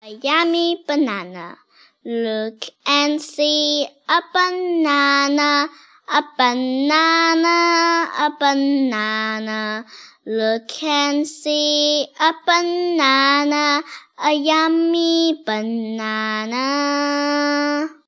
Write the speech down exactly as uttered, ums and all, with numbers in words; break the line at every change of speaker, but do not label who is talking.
A yummy banana. Look and see a banana, a banana, a banana. Look and see a banana, a yummy banana.